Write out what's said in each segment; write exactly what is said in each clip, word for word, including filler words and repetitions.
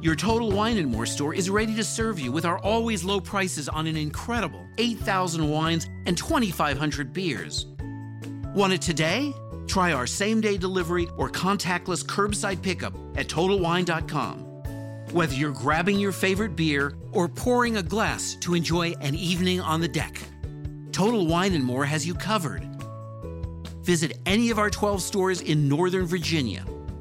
Your Total Wine and More store is ready to serve you with our always low prices on an incredible eight thousand wines and twenty-five hundred beers. Want it today? Try our same-day delivery or contactless curbside pickup at total wine dot com. Whether you're grabbing your favorite beer or pouring a glass to enjoy an evening on the deck, Total Wine and More has you covered. Visit any of our twelve stores in Northern Virginia.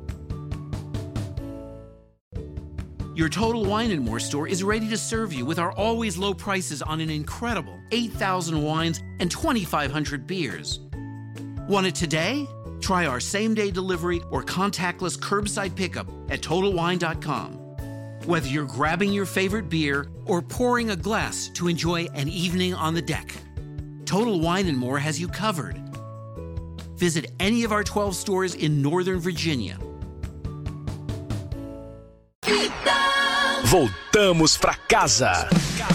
Your Total Wine and More store is ready to serve you with our always low prices on an incredible eight thousand wines and twenty-five hundred beers. Want it today? Try our same-day delivery or contactless curbside pickup at total wine dot com. Whether you're grabbing your favorite beer or pouring a glass to enjoy an evening on the deck, Total Wine and More has you covered. Visit any of our twelve stores in Northern Virginia. Voltamos pra casa.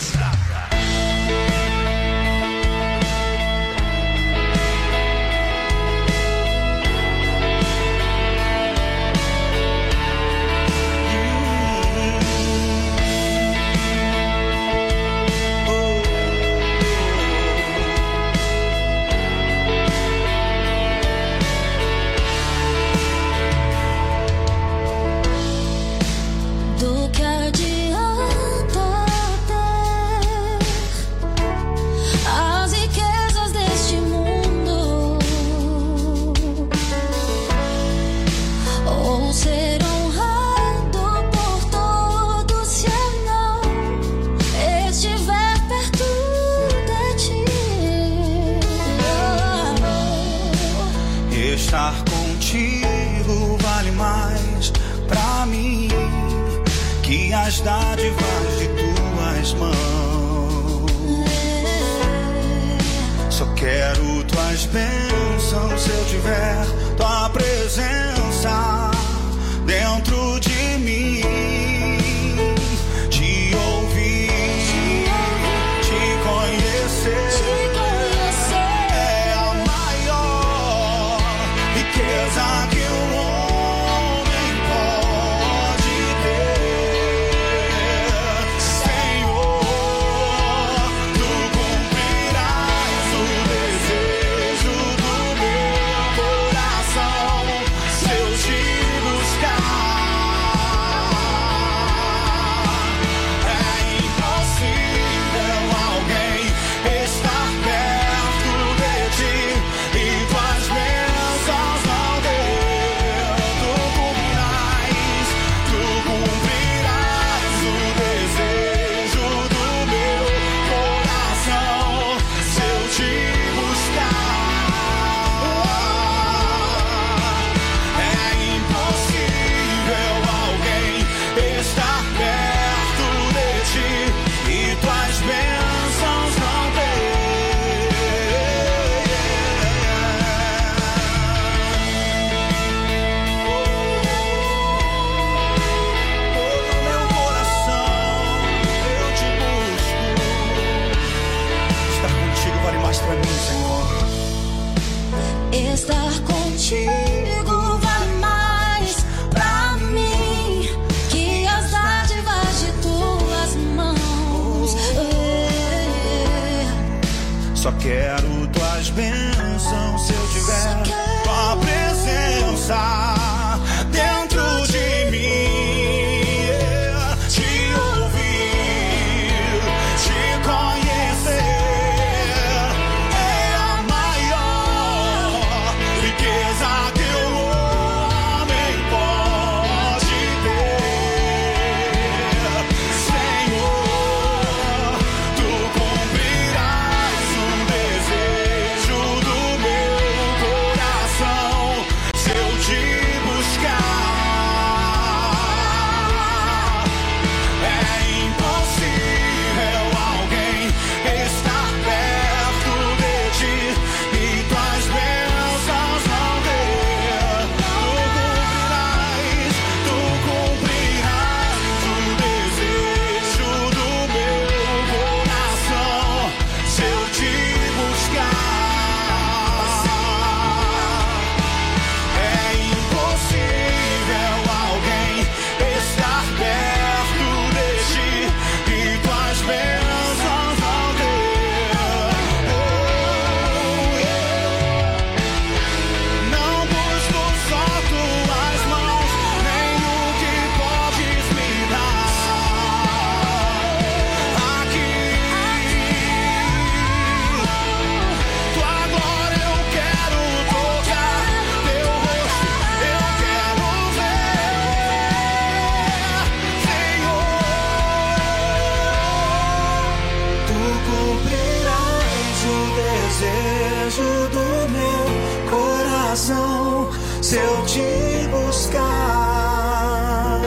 Do que adianta ter as riquezas deste mundo, ou ser honrado por todos se eu não estiver perto de ti? Estar contigo vale mais pra mim que as dádivas de tuas mãos. Só quero tuas bênçãos se eu tiver tua presença dentro de mim. Te ouvir, te conhecer é a maior riqueza que o homem pode ter. Senhor, tu cumprirás o desejo do meu coração se eu te buscar. É impossível alguém estar perto de ti e tuas bênçãos não deu. Tu cumprirás, tu cumprirás o desejo do meu coração se eu te buscar. É impossível alguém estar perto de ti e tuas bênçãos não ter. Todo meu coração eu te busco. Estar contigo vale mais pra mim, Senhor. Estar contigo vale mais pra mim que as dádivas de tuas mãos. Só quero tuas bênçãos se eu tiver tua presença dentro de mim. Te ouvir, te conhecer é a maior riqueza que o homem pode ter. Senhor, tu cumprirás um desejo coração se eu te buscar.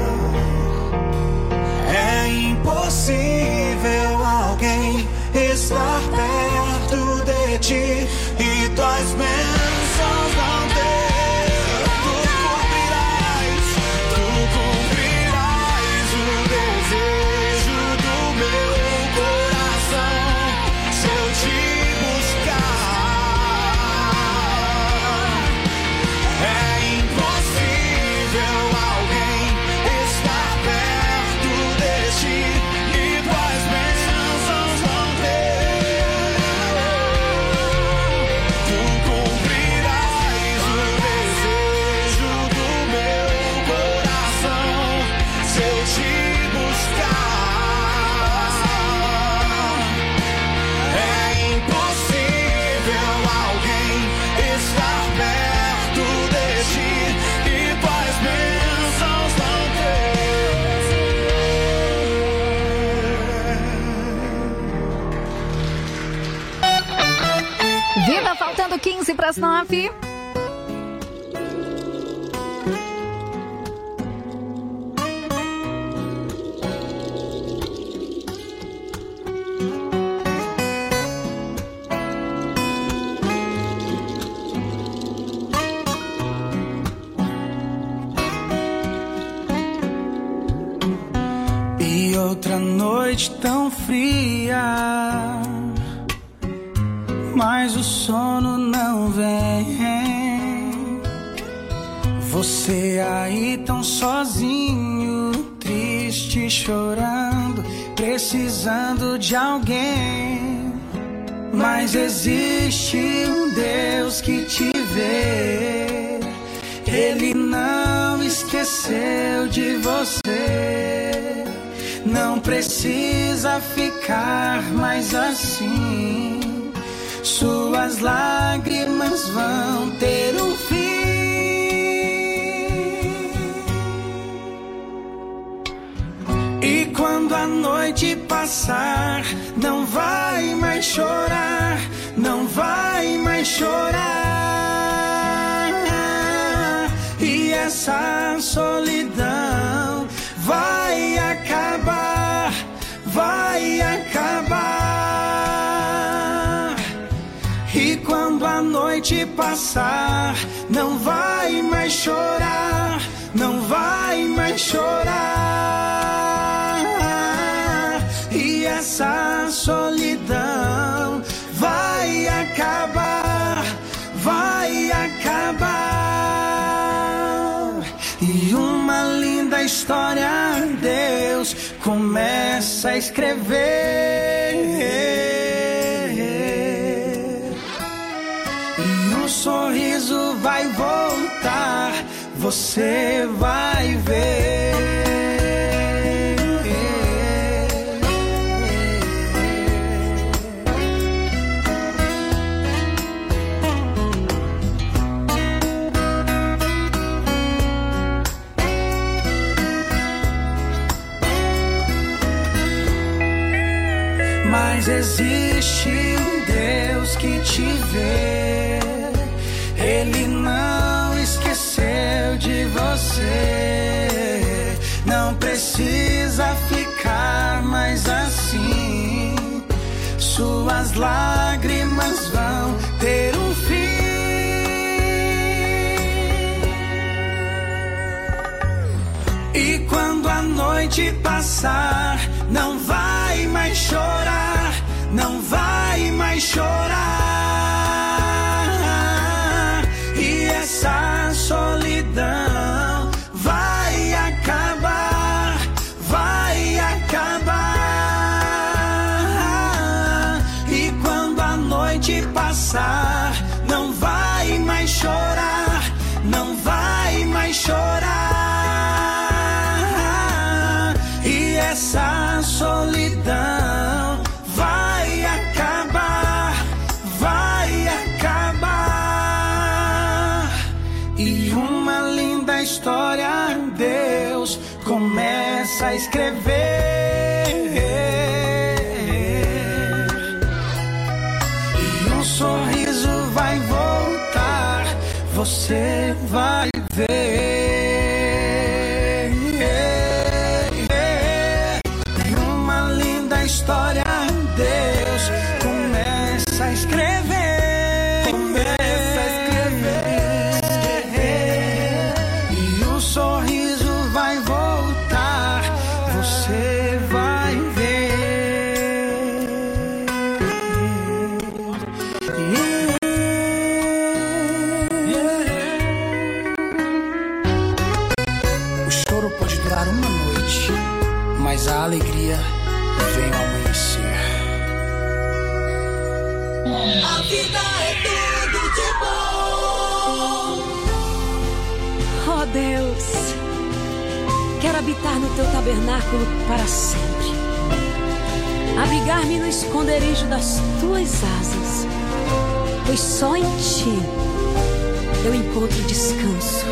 É impossível alguém estar perto de ti e tuas bênçãos não ter. Tu cumprirás, tu cumprirás o desejo do meu coração se eu te buscar. É impossível alguém estar perto de ti e tuas bênçãos não ter. Tu cumprirás o desejo do meu coração se eu te buscar. É impossível alguém estar perto de ti e tuas bênçãos não ter. Vida, faltando quinze para as nove. E outra noite tão fria, mas o sono não vem. Você aí tão sozinho, triste, chorando, precisando de alguém. Mas existe um Deus que te vê. Ele não esqueceu de você. Não precisa ficar mais assim. Suas lágrimas vão ter um fim. E quando a noite passar, não vai mais chorar, não vai mais chorar. E essa solidão vai acabar, vai acabar. E quando a noite passar, não vai mais chorar, não vai mais chorar. E essa solidão vai acabar, vai acabar. E uma linda história Deus começa a escrever. E um sorriso vai voltar, você vai ver. Mas existe um Deus que te vê. Ele não esqueceu de você. Não precisa ficar mais assim. Suas lágrimas vão ter um fim. E quando a noite passar, não vai mais chorar, não vai mais chorar. E essa solidão vai acabar, vai acabar. E quando a noite passar, não vai mais chorar, não vai mais chorar. E essa solidão vai acabar, vai acabar. E uma linda história Deus começa a escrever. E um sorriso vai voltar, você vai ver. Em uma linda história, Deus começa a escrever. Começa a escrever. E o sorriso vai voltar. Você vai ver. O choro pode durar uma noite, mas a alegria vem ao amanhecer. A vida é tudo de bom. Oh Deus, quero habitar no teu tabernáculo para sempre, abrigar-me no esconderijo das tuas asas, pois só em ti eu encontro descanso.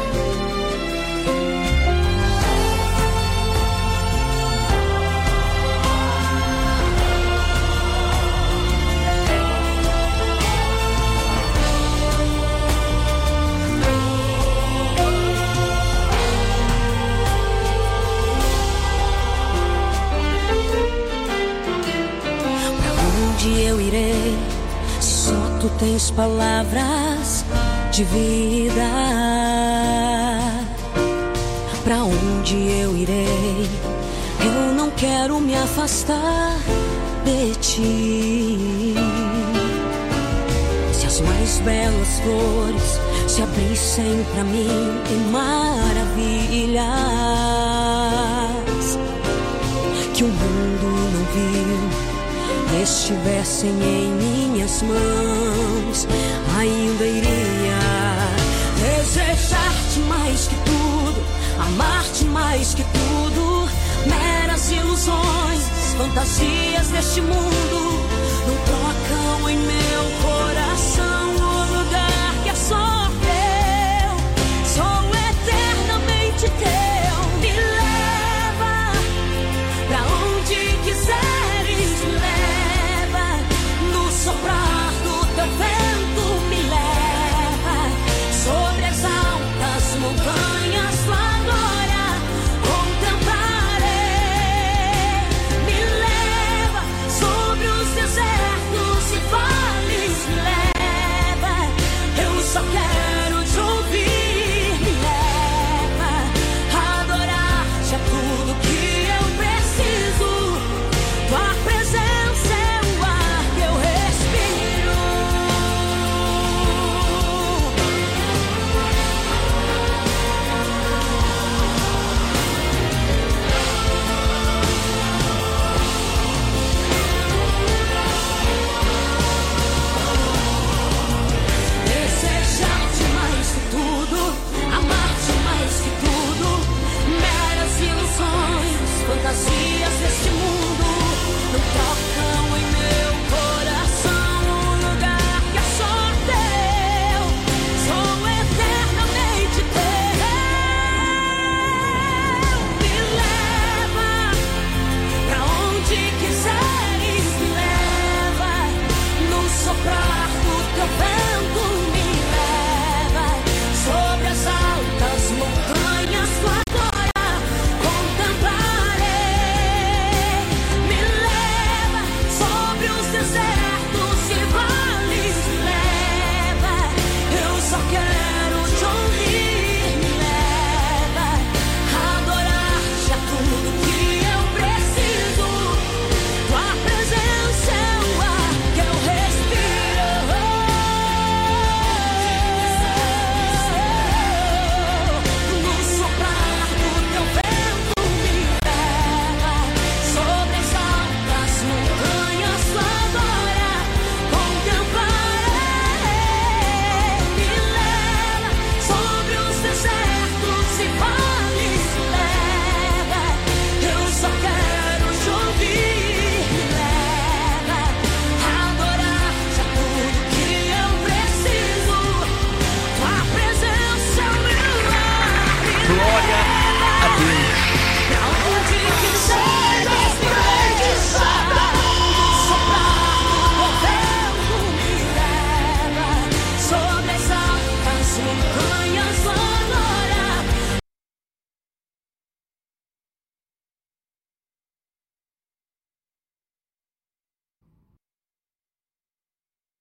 Eu irei, se só tu tens palavras de vida. Pra onde eu irei? Eu não quero me afastar de ti. Se as mais belas flores se abrissem pra mim em maravilhas que o mundo não viu, estivessem em minhas mãos, ainda iria desejar-te mais que tudo, amar-te mais que tudo. Meras ilusões, fantasias deste mundo não trocam em meu coração o lugar que é só teu. Sou eternamente teu. Me leva pra onde quiseres, me leva no soprar do teu vento, me leva sobre as altas montanhas, tua glória contemplarei. Me leva sobre os desertos e vales, me leva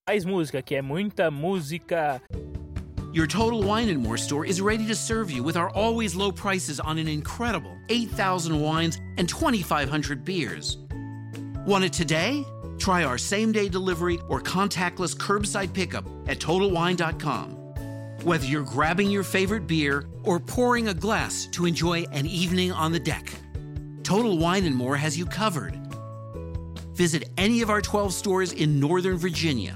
Mais música, que é muita música. Your Total Wine and More store is ready to serve you with our always low prices on an incredible eight thousand wines and twenty-five hundred beers. Want it today? Try our same-day delivery or contactless curbside pickup at total wine dot com. Whether you're grabbing your favorite beer or pouring a glass to enjoy an evening on the deck, Total Wine and More has you covered. Visit any of our twelve stores in Northern Virginia.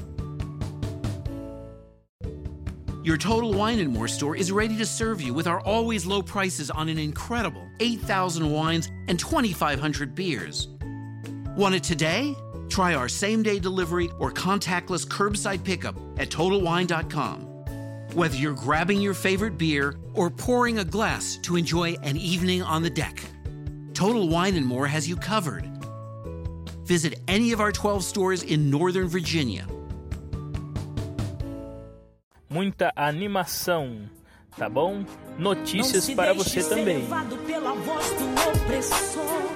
Your Total Wine and More store is ready to serve you with our always low prices on an incredible eight thousand wines and twenty-five hundred beers. Want it today? Try our same-day delivery or contactless curbside pickup at total wine dot com. Whether you're grabbing your favorite beer or pouring a glass to enjoy an evening on the deck, Total Wine and More has you covered. Visit any of our twelve stores in Northern Virginia. Muita animação, tá bom? Notícias para você também. Pela voz do opressor.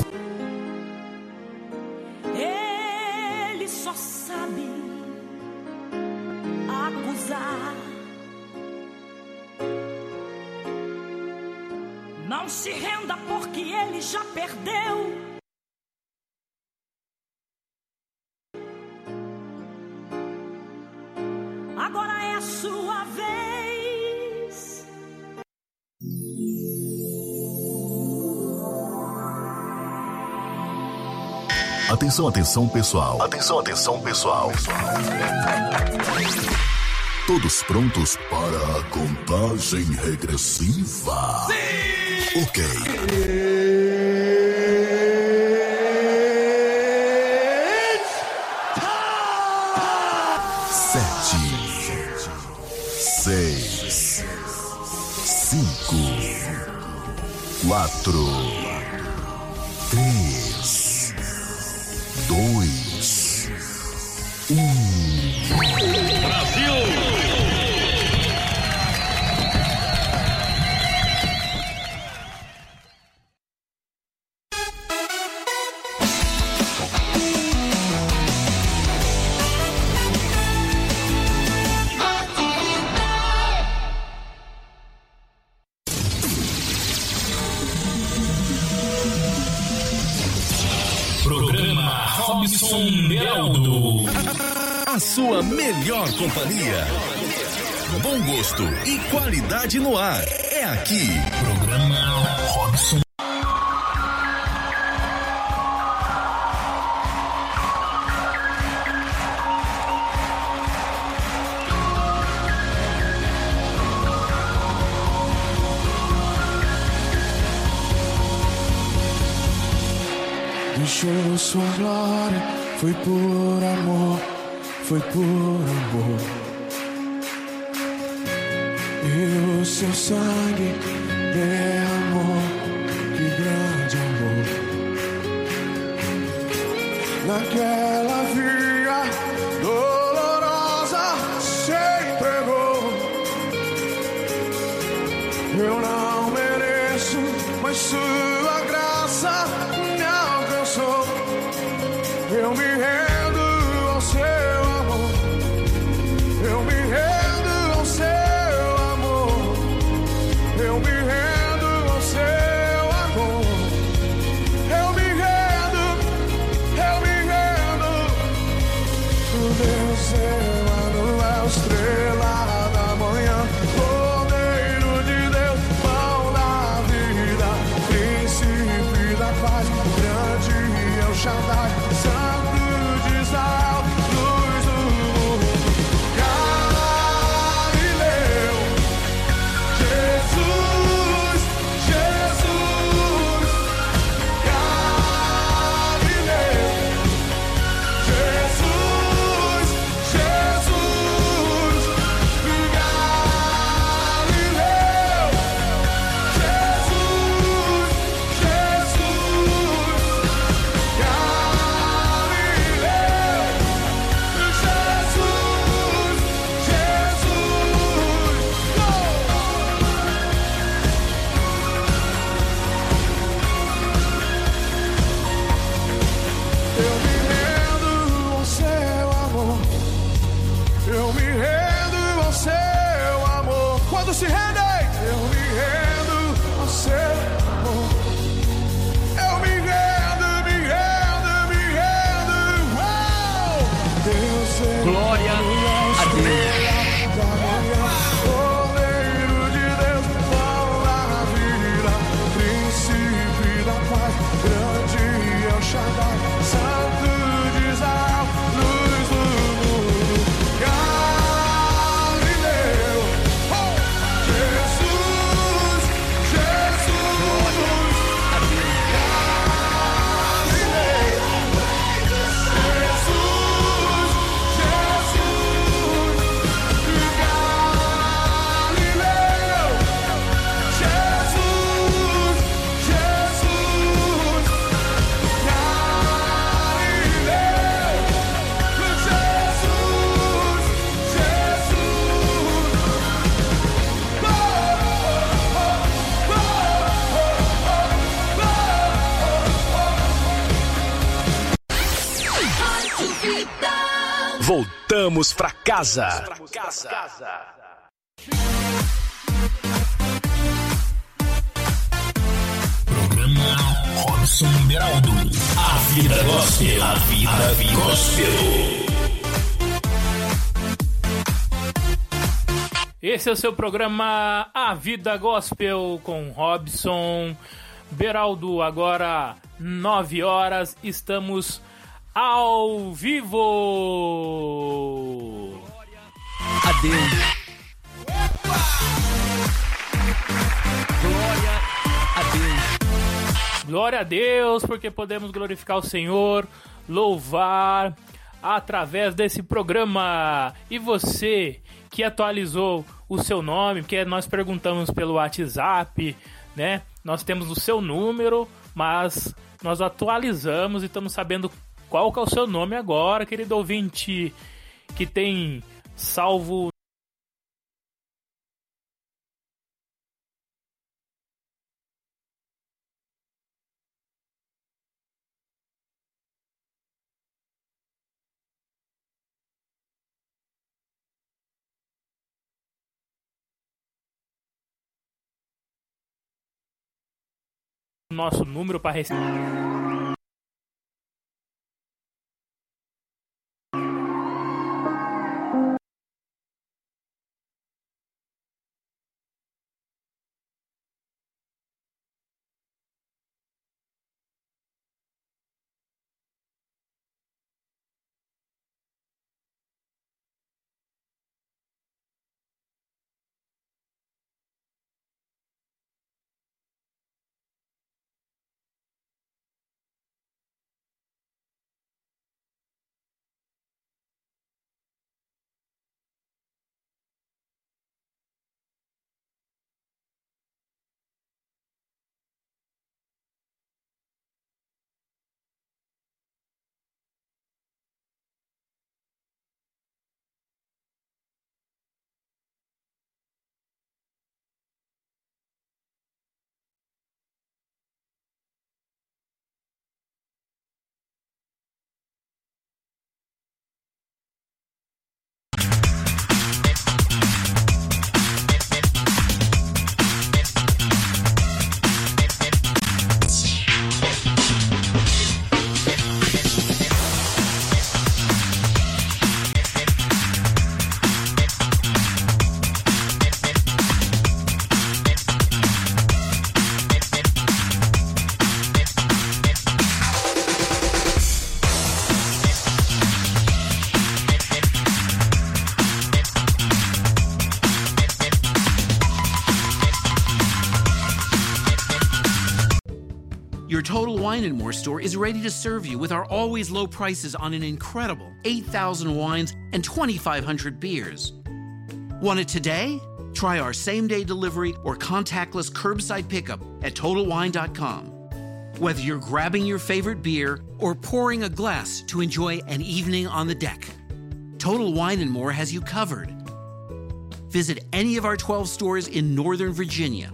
Ele só sabe acusar. Não se renda porque ele já perdeu. Agora é a sua vez. Atenção, atenção, pessoal. Atenção, atenção, pessoal. Todos prontos para a contagem regressiva? Sim! Ok. Seis, cinco, quatro, três, dois, um. Brasil! Beraldo. A sua melhor companhia. Bom gosto e qualidade no ar. É aqui. Programa Robson. Deixou sua glória, foi por amor, foi por amor. E o seu sangue derramou, que grande amor. Naquela via dolorosa se entregou. Eu não mereço, mas sua graça me alcançou. Eu me rendo ao seu amor. Eu me rendo ao seu amor. Eu me rendo ao seu amor. Eu me rendo, eu me rendo. O Deus Emanuel, estrela da manhã, Cordeiro de Deus, pão da vida, príncipe da paz, grande é o Shaddai, Santo de Israel, luz do mundo. Galileu, Jesus, Jesus. Galileu, Jesus, Jesus. Galileu, Jesus, Jesus. Galileu. Shaddai, Santo de Israel, luz do mundo, Galileu, oh! Jesus, Jesus, Galileu, Voltamos pra casa. Programa Robson Beraldo. A vida gospel. A vida gospel. Esse é o seu programa A Vida Gospel com Robson Beraldo. Agora nove horas, estamos ao vivo. Adeus. Glória a Deus. Glória a Deus, porque podemos glorificar o Senhor, louvar através desse programa. E você que atualizou o seu nome, porque nós perguntamos pelo WhatsApp, né? Nós temos o seu número, mas nós atualizamos e estamos sabendo qual que é o seu nome agora, querido ouvinte que tem salvo o nosso número para receber. Your Total Wine and More store is ready to serve you with our always low prices on an incredible eight thousand wines and twenty-five hundred beers. Want it today? Try our same-day delivery or contactless curbside pickup at total wine dot com. Whether you're grabbing your favorite beer or pouring a glass to enjoy an evening on the deck, Total Wine and More has you covered. Visit any of our twelve stores in Northern Virginia.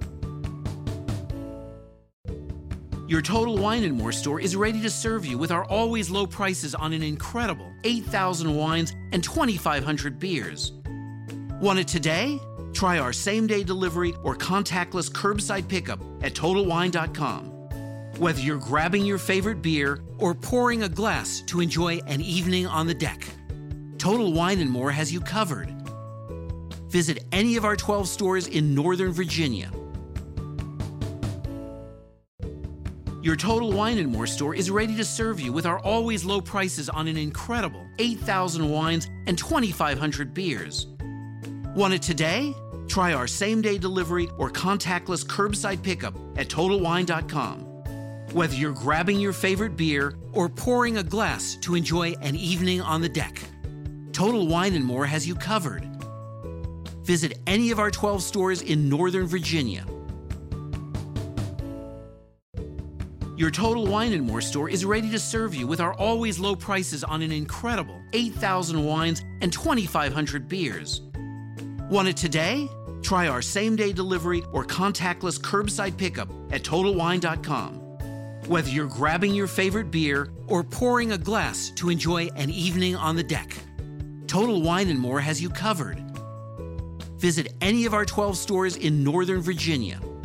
Your Total Wine and More store is ready to serve you with our always low prices on an incredible eight thousand wines and twenty-five hundred beers. Want it today? Try our same-day delivery or contactless curbside pickup at total wine dot com. Whether you're grabbing your favorite beer or pouring a glass to enjoy an evening on the deck, Total Wine and More has you covered. Visit any of our twelve stores in Northern Virginia. Your Total Wine and More store is ready to serve you with our always low prices on an incredible eight thousand wines and twenty-five hundred beers. Want it today? Try our same-day delivery or contactless curbside pickup at total wine dot com. Whether you're grabbing your favorite beer or pouring a glass to enjoy an evening on the deck, Total Wine and More has you covered. Visit any of our twelve stores in Northern Virginia. Your Total Wine and More store is ready to serve you with our always low prices on an incredible eight thousand wines and twenty-five hundred beers. Want it today? Try our same-day delivery or contactless curbside pickup at total wine dot com. Whether you're grabbing your favorite beer or pouring a glass to enjoy an evening on the deck, Total Wine and More has you covered. Visit any of our twelve stores in Northern Virginia.